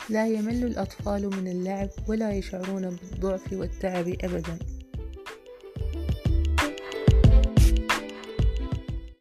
لا يمل الأطفال من اللعب ولا يشعرون بالضعف والتعب أبدا.